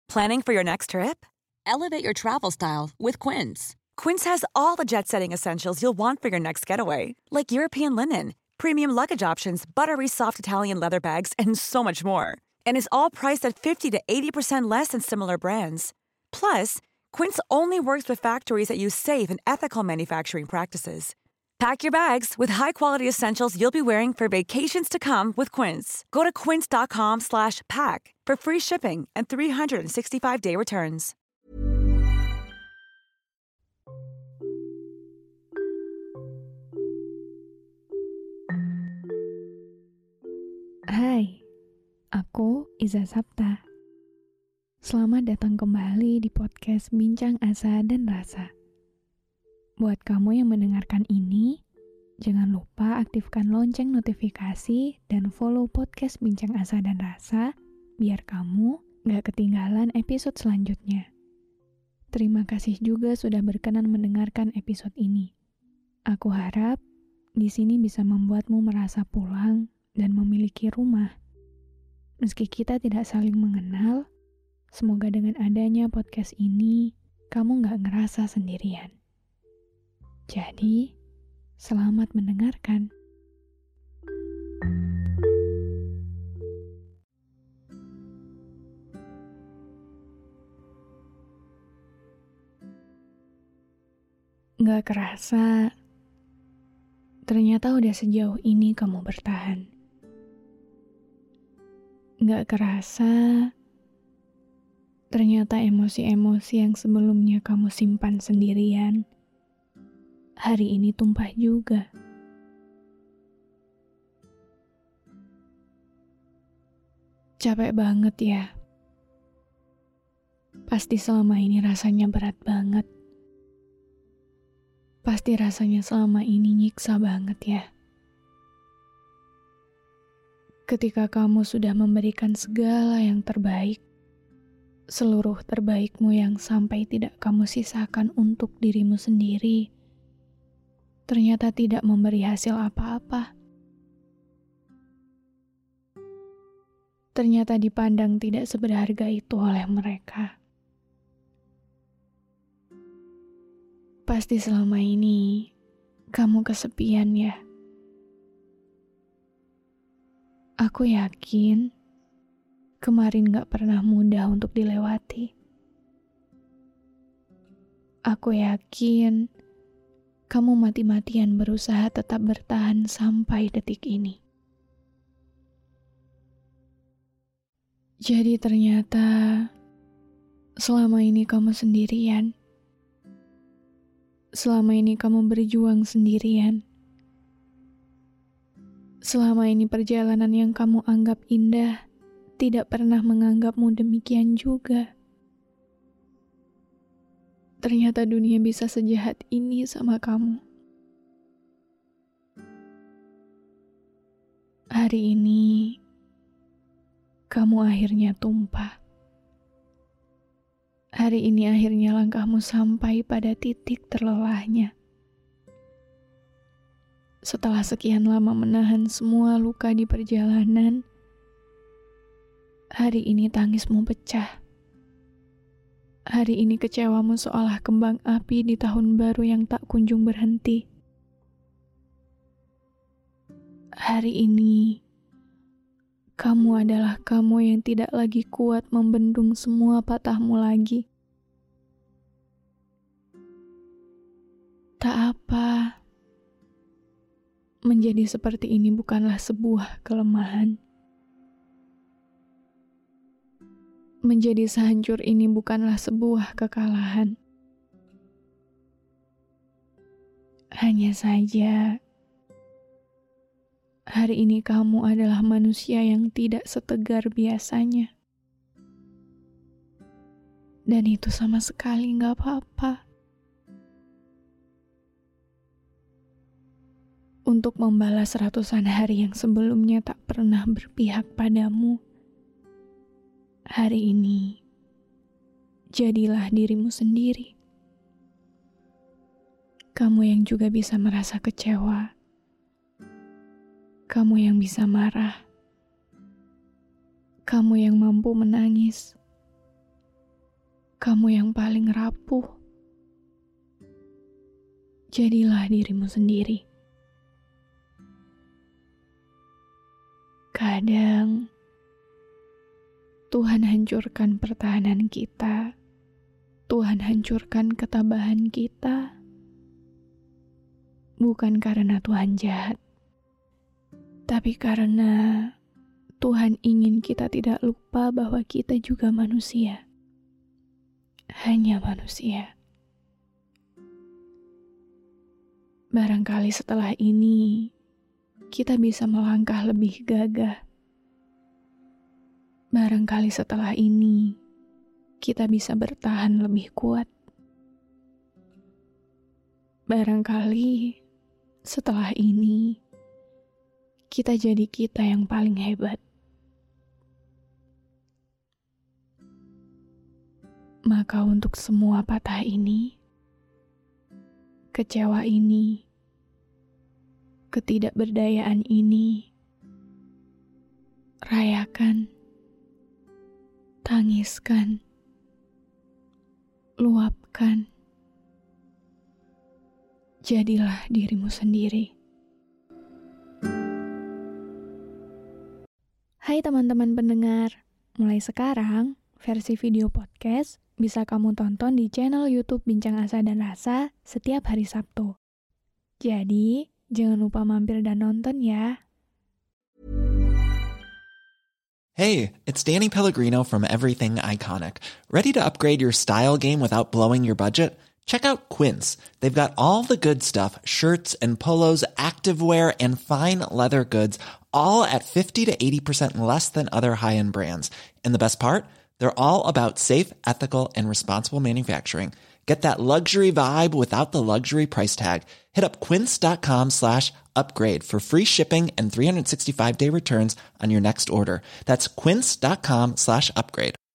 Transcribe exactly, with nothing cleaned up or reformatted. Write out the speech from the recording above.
Planning for your next trip? Elevate your travel style with Quince. Quince has all the jet-setting essentials you'll want for your next getaway, like European linen, premium luggage options, buttery soft Italian leather bags, and so much more. And is all priced at fifty to eighty percent less than similar brands. Plus, Quince only works with factories that use safe and ethical manufacturing practices. Pack your bags with high-quality essentials you'll be wearing for vacations to come with Quince. Go to quince.com slash pack for free shipping and three sixty-five day returns. Hai, aku Iza Sapta. Selamat datang kembali di podcast Bincang Asa dan Rasa. Buat kamu yang mendengarkan ini, jangan lupa aktifkan lonceng notifikasi dan follow podcast Bincang Asa dan Rasa biar kamu gak ketinggalan episode selanjutnya. Terima kasih juga sudah berkenan mendengarkan episode ini. Aku harap di sini bisa membuatmu merasa pulang dan memiliki rumah. Meski kita tidak saling mengenal, semoga dengan adanya podcast ini, kamu gak ngerasa sendirian. Jadi, selamat mendengarkan. Gak kerasa, ternyata udah sejauh ini kamu bertahan. Gak kerasa, ternyata emosi-emosi yang sebelumnya kamu simpan sendirian, hari ini tumpah juga. Capek banget ya. Pasti selama ini rasanya berat banget. Pasti rasanya selama ini nyiksa banget ya. Ketika kamu sudah memberikan segala yang terbaik, seluruh terbaikmu yang sampai tidak kamu sisakan untuk dirimu sendiri, ternyata tidak memberi hasil apa-apa. Ternyata dipandang tidak seberharga itu oleh mereka. Pasti selama ini kamu kesepian ya. Aku yakin kemarin gak pernah mudah untuk dilewati. Aku yakin kamu mati-matian berusaha tetap bertahan sampai detik ini. Jadi ternyata selama ini kamu sendirian. Selama ini kamu berjuang sendirian. Selama ini perjalanan yang kamu anggap indah tidak pernah menganggapmu demikian juga. Ternyata dunia bisa sejahat ini sama kamu. Hari ini, kamu akhirnya tumpah. Hari ini akhirnya langkahmu sampai pada titik terlelahnya. Setelah sekian lama menahan semua luka di perjalanan, hari ini tangismu pecah. Hari ini kecewamu seolah kembang api di tahun baru yang tak kunjung berhenti. Hari ini, kamu adalah kamu yang tidak lagi kuat membendung semua patahmu lagi. Tak apa, menjadi seperti ini bukanlah sebuah kelemahan. Menjadi sehancur ini bukanlah sebuah kekalahan. Hanya saja, hari ini kamu adalah manusia yang tidak setegar biasanya. Dan itu sama sekali gak apa-apa. Untuk membalas ratusan hari yang sebelumnya tak pernah berpihak padamu, hari ini, jadilah dirimu sendiri. Kamu yang juga bisa merasa kecewa. Kamu yang bisa marah. Kamu yang mampu menangis. kamu yang paling rapuh. Jadilah dirimu sendiri. Kadang Tuhan hancurkan pertahanan kita. Tuhan hancurkan ketabahan kita. Bukan karena Tuhan jahat, tapi karena Tuhan ingin kita tidak lupa bahwa kita juga manusia. Hanya manusia. Barangkali setelah ini, kita bisa melangkah lebih gagah. Barangkali setelah ini, kita bisa bertahan lebih kuat. Barangkali setelah ini, kita jadi kita yang paling hebat. Maka untuk semua patah ini, kecewa ini, ketidakberdayaan ini, rayakan, tangiskan, luapkan. Jadilah dirimu sendiri. Hai teman-teman pendengar, mulai sekarang versi video podcast bisa kamu tonton di channel YouTube Bincang Asa dan Rasa setiap hari Sabtu. Jadi, jangan lupa mampir dan nonton ya. Hey, it's Danny Pellegrino from Everything Iconic. Ready to upgrade your style game without blowing your budget? Check out Quince. They've got all the good stuff, shirts and polos, activewear, and fine leather goods, all at fifty to eighty percent less than other high-end brands. And the best part? They're all about safe, ethical, and responsible manufacturing. Get that luxury vibe without the luxury price tag. Hit up quince.com slash upgrade for free shipping and three sixty-five day returns on your next order. That's quince.com slash upgrade.